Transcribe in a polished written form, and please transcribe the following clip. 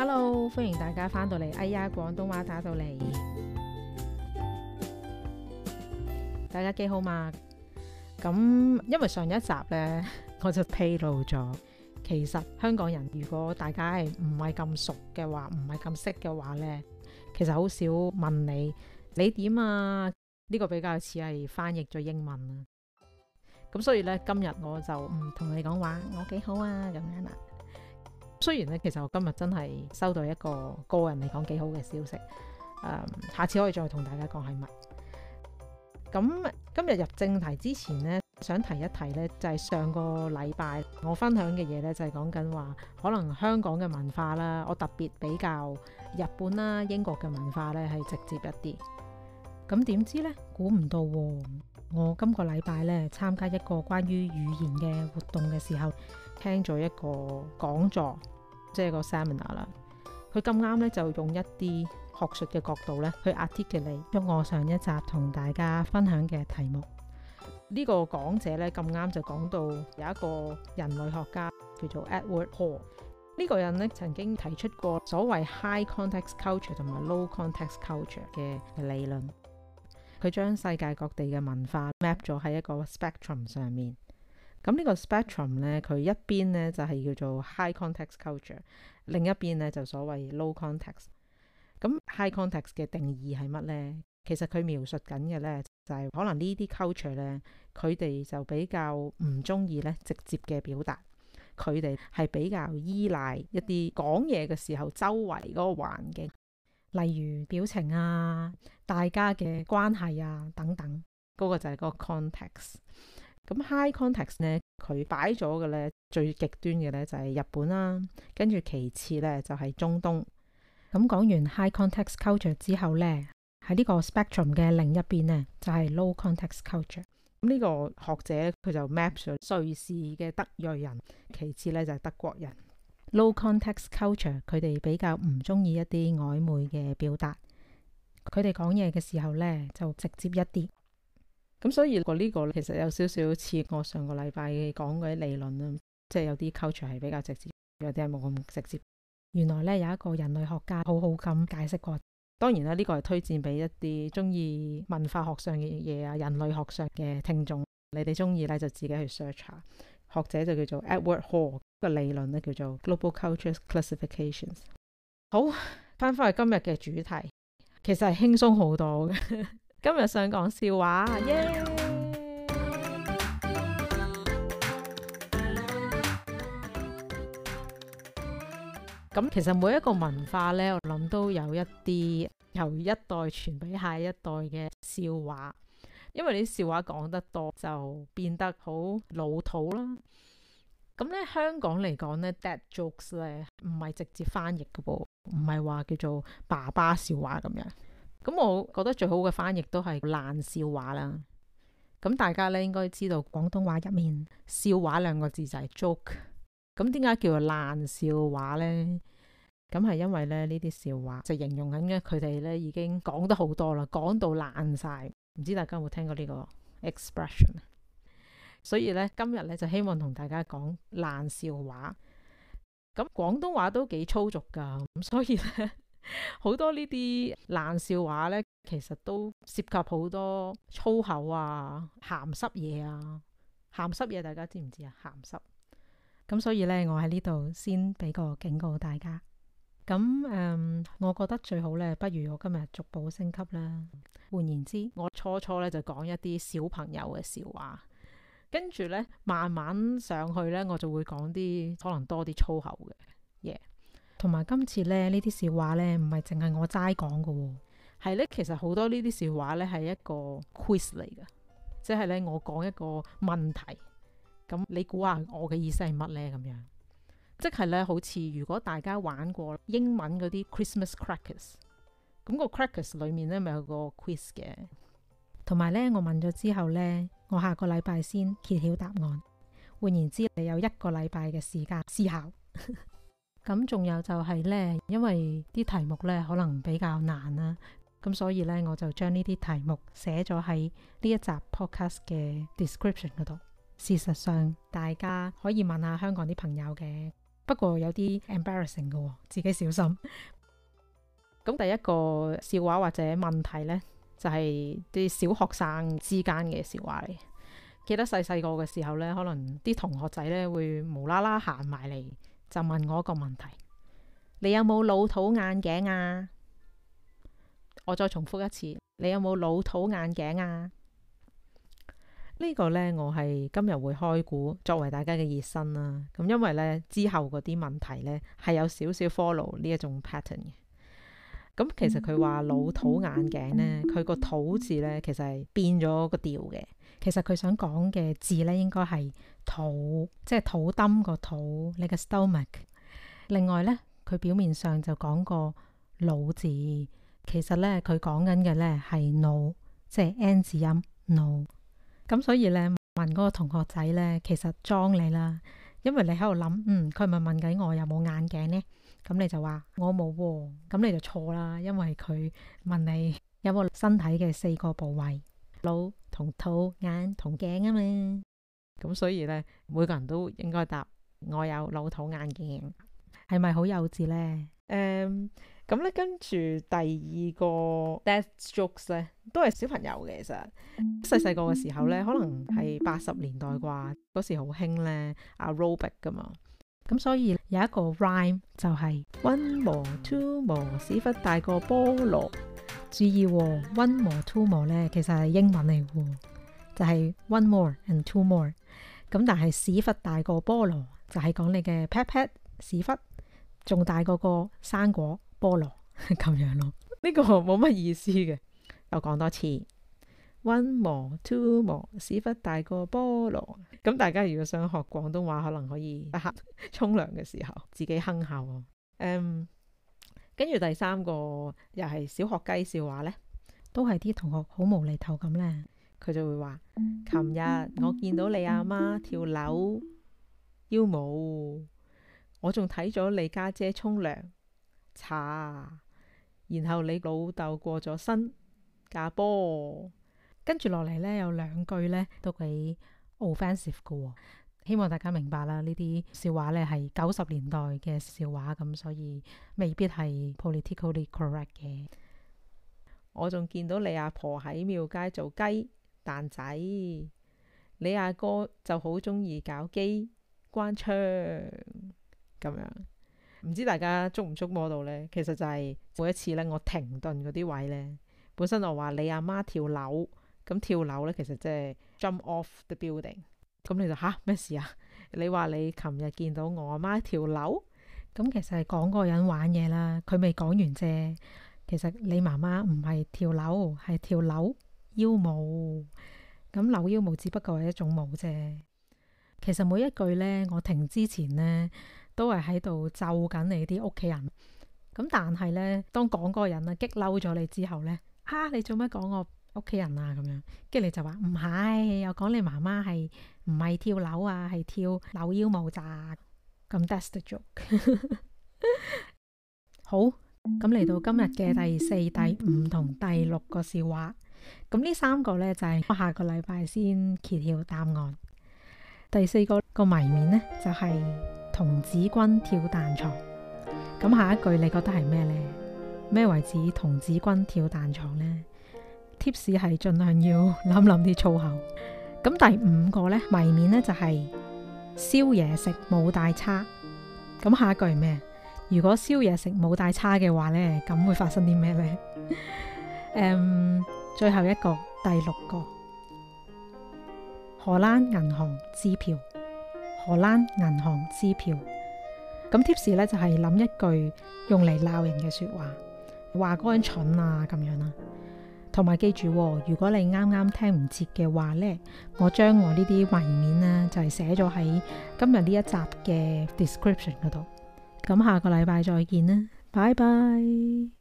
Hello， 歡迎大家返到嚟，哎呀，廣東話打到嚟，大家幾好嘛？咁因為上一集呢，我就披露咗，其實香港人如果大家係唔係咁熟嘅話，唔係咁識嘅話呢，其實好少問你點啊？呢個比較似係翻譯咗英文啊。咁所以呢，今日我就唔同你講話，我幾好啊咁樣啦。雖然咧，其實我今日真係收到一個個人嚟講幾好嘅消息，下次可以再同大家講係乜。咁今日入正題之前呢，想提一提呢，就係上個禮拜我分享嘅嘢呢，就係講緊話可能香港嘅文化啦，我特別比較日本啦、英國嘅文化呢係直接一啲。咁點知呢？估唔到喎！我今個禮拜呢，參加一個關於語言嘅活動嘅時候，聽咗一個講座，即係個 seminar 啦。佢咁啱咧，就用一啲學術嘅角度咧，去 articulate 將我上一集同大家分享嘅題目。呢個講者咧，咁啱就講到有一個人類學家叫做 Edward Hall。呢個人咧，曾經提出過所謂 high context culture 同埋 low context culture 嘅理論。佢將世界各地嘅文化 map 咗喺一個 spectrum 上面。咁呢個 spectrum 咧，佢一邊咧就係叫做 high context culture， 另一邊咧就所謂 low context。咁 high context 嘅定義係乜咧？其實佢描述緊嘅咧就係可能呢啲 culture 咧，佢哋就比較唔中意咧直接嘅表達，佢哋係比較依賴一啲講嘢嘅時候周圍嗰個環境，例如表情啊、大家嘅關係啊等等，嗰個就係嗰個 context。咁 high context 咧，佢擺咗嘅咧最極端嘅咧就係日本啦，跟住其次咧就係中東。咁講完 high context culture 之後咧，喺呢個 spectrum 嘅另一邊咧就係 low context culture。咁呢個學者佢就 map 咗瑞士嘅德裔人，其次咧就係德國人。low context culture 佢哋比較唔中意一啲曖昧嘅表達，佢哋講嘢嘅時候咧就直接一啲。咁所以呢個其實有少少似我上個禮拜講嗰啲理論啦，即係有啲 culture 係比較直接，有啲係冇咁直接。原來咧有一個人類學家好好咁解釋過，當然啦，呢個係推薦俾一啲中意文化學上嘅嘢啊、人類學上嘅聽眾，你哋中意咧就自己去 search 下。學者就叫做 Edward Hall， 個理論咧叫做 Global Culture Classifications。好，翻返去今日嘅主題，其實係輕鬆好多嘅。今日想講笑話，耶！咁其實每一個文化呢，我諗都有一啲由一代傳俾下一代嘅笑話，因為你啲笑話講得多就變得好老土啦。咁呢，香港嚟講呢 dad jokes 呢唔係直接翻譯嘅噃，唔係話叫做爸爸笑話咁樣。咁我覺得最好嘅翻譯都係爛笑話啦。咁大家咧應該知道廣東話入面笑話兩個字就係 joke。咁點解叫做爛笑話呢？咁係因為咧呢啲笑話就形容緊嘅佢哋咧已經講得好多啦，講到爛晒。唔知大家有冇聽過呢個 expression？ 所以咧今日咧就希望同大家講爛笑話。咁廣東話都幾粗俗噶，咁所以咧好多呢啲爛笑話呢，其實都涉及好多粗口啊、鹹濕嘢啊。鹹濕嘢大家知唔知啊？鹹濕。咁所以呢，我喺呢度先俾個警告大家。咁我覺得最好呢，不如我今日逐步升級啦。換言之，我初呢就講一啲小朋友嘅笑話，跟住呢，慢慢上去呢，我就會講啲可能多啲粗口嘅嘢。同埋今次咧呢啲笑話咧唔係淨係我齋講嘅，係咧其實好多呢啲笑話咧係一個 quiz 嚟嘅，即係咧我講一個問題，咁你估下我嘅意思係乜咧？咁樣即係咧好似如果大家玩過英文嗰啲 Christmas crackers， 咁個 crackers 裏面咧咪有個 quiz 嘅，同埋咧我問咗之後咧，我下個禮拜先揭曉答案。換言之，你有1個禮拜嘅時間思考。咁仲有就係呢，因為啲題目呢可能比較難啦，咁所以呢，我就將呢啲題目寫咗喺呢一集 podcast 嘅 description 嗰度。事實上大家可以問下香港啲朋友嘅， 不過有啲 embarrassing 嘅喎，自己小心。咁第一個笑話或者問題呢，就係啲小學生之間嘅笑話嚟。記得細細個嘅時候呢，可能啲同學仔呢會無啦啦行埋嚟，就問我一個問題：你有冇老土眼鏡啊？我再重複一次，你有冇老土眼鏡啊？呢個呢，我係今日會開估作為大家嘅熱身啦。咁因為呢，之後嗰啲問題呢係有少少 follow 呢一種 pattern 嘅。咁其實佢話老土眼鏡呢，佢個土字呢其實係變咗個調嘅。其實佢想講嘅字呢應該係肚，即係肚墩個肚，你嘅 stomach。另外呢，佢表面上就講個腦字，其實呢，佢講緊嘅呢係腦，即係 N 字音腦。咁所以呢，問嗰個同學仔呢，其實裝你啦，因為你喺度諗，佢咪問緊我有冇眼鏡呢？咁你就話我冇喎，咁你就錯啦，因為佢問你有冇身體嘅4個部位，腦同肚、眼同鏡啊嘛。咁所以呢，每個人都應該答我有老土眼鏡，係咪好幼稚呢？咁咧，跟住第二個 death jokes 咧，都係小朋友嘅。其實細細個嘅時候咧，可能係80年代啩，嗰時好興咧 aerobic 噶嘛。咁所以有一個 rhyme 就係 one more two more 屎忽大過菠蘿。注意喎，one more two more 咧，其實係英文嚟喎，就係 one more and two more。咁但係屎忽大過菠蘿，就係講你嘅 pat pat 屎忽仲大過個生果菠蘿咁樣咯。呢個冇乜意思嘅，我講多次 one more two more 屎忽大過菠蘿。咁大家如果想學廣東話，可能可以得閒沖涼嘅時候自己哼下喎。跟住第三個又係小學雞笑話呢，都係啲同學好無厘頭咁呢，佢就會話：琴日我見到你阿媽跳樓腰舞，我仲睇咗你家姐沖涼茶，然後你老豆過咗身架波。跟住落嚟呢，有2句呢都幾 offensive 嘅喎，希望大家明白啦。呢啲笑話呢係90年代嘅笑話，咁所以未必係 politically correct 嘅。我仲見到你阿婆喺廟街做雞蛋仔，你阿哥就好中意搞機關槍咁樣。唔知大家捉唔捉摸到呢？其實就係每一次呢，我停頓嗰啲位呢，本身我話你阿媽跳樓，咁跳樓呢，其實即係 jump off the building。咁你就咩事啊？你話你琴日見到我阿媽跳樓，咁其實係講嗰個人玩嘢啦，佢未講完啫。其實你媽媽唔係跳樓，係跳扭腰舞。咁扭腰舞只不過係一種舞啫。其實每一句呢，我停之前呢，都係喺度咒緊你啲屋企人。咁但係呢，當講嗰個人啊激嬲咗你之後呢，你做乜講我屋企人啊咁樣？跟住你就話唔係，我講你媽媽係唔係跳樓啊，係跳扭腰舞咋。咁 that's the joke。 好，咁嚟到今日嘅第4、第5同第6個笑話。咁呢3個呢，就係我下個禮拜先揭曉答案。第4個謎面呢，就係童子軍跳彈床。咁下一句你覺得係咩呢？咩為止童子軍跳彈床呢？Tips 係盡量要諗啲粗口。咁第5個呢，謎面呢，就係燒嘢食冇帶叉。咁下一句係咩？如果燒嘢食冇帶叉嘅話呢，咁會發生啲咩呢？最後一個第6個荷蘭銀行支票。荷蘭銀行支票。咁 tips 呢，就係諗一句用嚟鬧人嘅說話，話嗰個人蠢啊咁樣啦。同埋記住，如果你啱啱聽唔切嘅話呢，我將我呢啲謎面呢，就係寫咗喺今日呢一集嘅 description 嗰度。咁下個禮拜再見啦，拜拜。